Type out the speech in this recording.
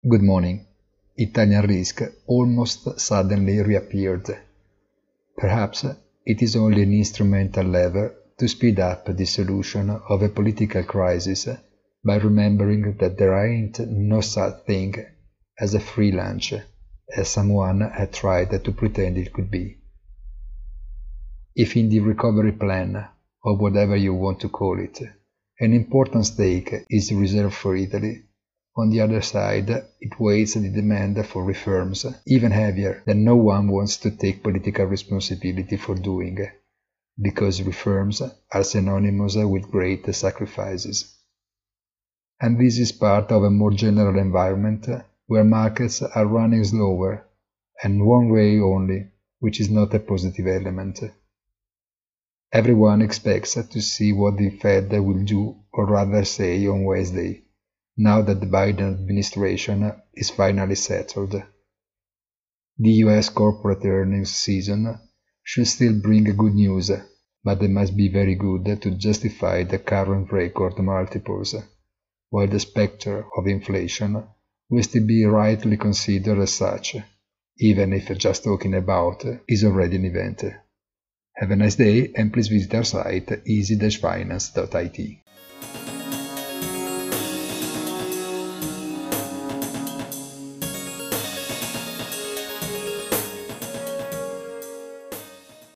Good morning. Italian risk almost suddenly reappeared. Perhaps it is only an instrumental lever to speed up the solution of a political crisis by remembering that there ain't no such thing as a free lunch, as someone had tried to pretend it could be. If in the recovery plan, or whatever you want to call it, an important stake is reserved for Italy, on the other side, it weighs the demand for reforms even heavier than no one wants to take political responsibility for doing, because reforms are synonymous with great sacrifices. And this is part of a more general environment where markets are running slower, and one way only, which is not a positive element. Everyone expects to see what the Fed will do, or rather say, on Wednesday, now that the Biden administration is finally settled. The US corporate earnings season should still bring good news, but they must be very good to justify the current record multiples, while the specter of inflation will still be rightly considered as such, even if just talking about is already an event. Have a nice day, and please visit our site easy-finance.it.